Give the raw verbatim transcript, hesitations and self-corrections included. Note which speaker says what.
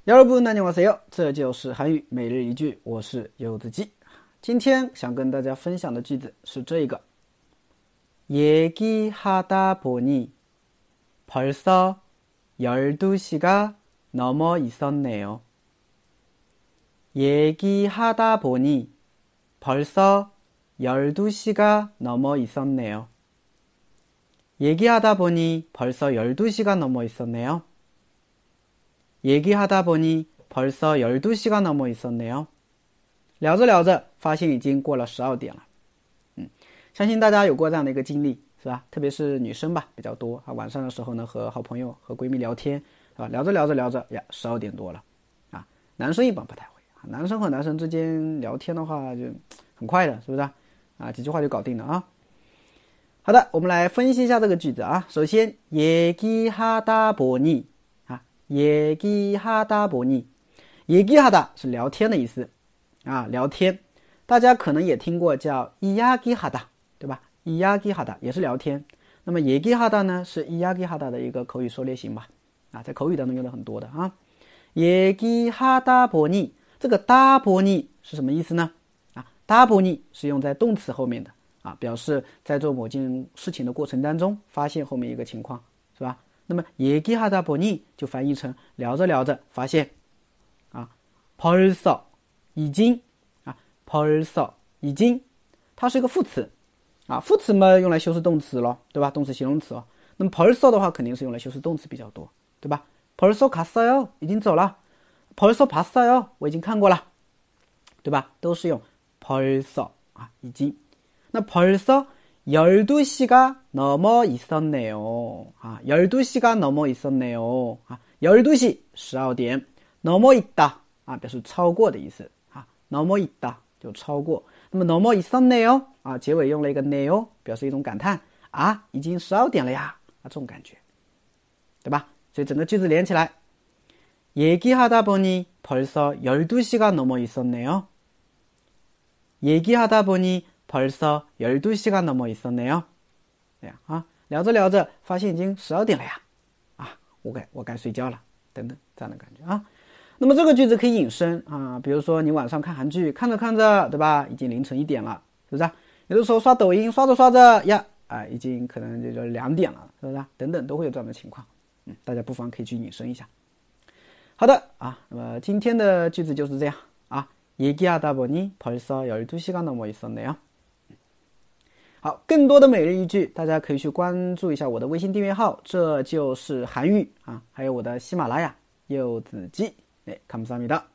Speaker 1: 여러분 안녕하세요，这就是韩语每日一句，我是柚子鸡。今天想跟大家分享的句子是这个， 얘기하다 보니 벌써 열두 시가 넘어 있었네요. 얘기하다 보니 벌써 열두 시가 넘어 있었네요. 얘기하다 보니 벌써 열두 시가 넘어 있었네요. 얘기하다 보니 벌써 열두 시가 넘어 있었네요. 聊着聊着发现已经过了十二点了。嗯，相信大家有过这样的一个经历，是吧？特别是女生吧，比较多啊。晚上的时候呢，和好朋友和闺蜜聊天，是吧？聊着聊着聊着呀，十二点多了啊。男生一般不太会啊，男生和男生之间聊天的话就很快的，是不是啊？几句话就搞定了啊。好的，我们来分析一下这个句子啊。首先，얘기하다 보니啊，얘기하다 보니， 얘기하다是聊天的意思啊，聊天。大家可能也听过叫이야기하다，对吧？이야기하다也是聊天。那么얘기하다呢是이야기하다的一个口语缩略型吧？啊，在口语当中用的很多的啊。얘기하다 보니，这个다 보니是什么意思呢？啊，다 보니是用在动词后面的啊，表示在做某件事情的过程当中发现后面一个情况，是吧？那么얘기하다 보니就翻译成聊着聊着发现啊，벌써已经啊，벌써已经，它是一个副词啊，副词嘛用来修饰动词咯，对吧？动词形容词哦。那么벌써的话肯定是用来修饰动词比较多，对吧？벌써 갔어요，已经走了。벌써 봤어요，我已经看过了，对吧？都是用벌써啊，已经。那벌써 열두 시가 넘어 있었네요. 아, 열두 시가 넘어 있었네요. 아, 열두 시,十二点. 넘어 있다, 아, 表示超过的意思. 아, 넘어 있다, 就超过. 那么 넘어 있었네요, 아, 结尾用了一个 네요, 表示一种感叹. 아, 已经十二点了呀, 아, 这种感觉. 对吧? 所以整个句子连起来. 얘기하다 보니 벌써 열두 시가 넘어 있었네요. 얘기하다 보니 벌써 열두 시가 넘어 있었네요. 这样啊，聊着聊着发现已经十二点了呀，啊，我该我该睡觉了，等等这样的感觉啊。那么这个句子可以引申啊，比如说你晚上看韩剧，看着看着，对吧？已经凌晨一点了，是不是？有的时候刷抖音，刷着刷着呀，啊，已经可能就两点了，是不是？等等都会有这样的情况，嗯，大家不妨可以去引申一下。好的啊，那么今天的句子就是这样啊。얘기하다 보니 벌써 열두 시가 넘어 있었네요. 好，更多的每日一句，大家可以去关注一下我的微信订阅号，这就是韩语啊，还有我的喜马拉雅柚子鸡，哎，감사합니다。